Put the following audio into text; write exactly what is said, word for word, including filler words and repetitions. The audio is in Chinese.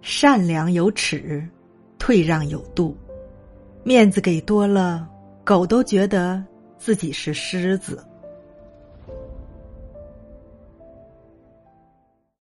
善良有尺，退让有度。面子给多了，狗都觉得自己是狮子。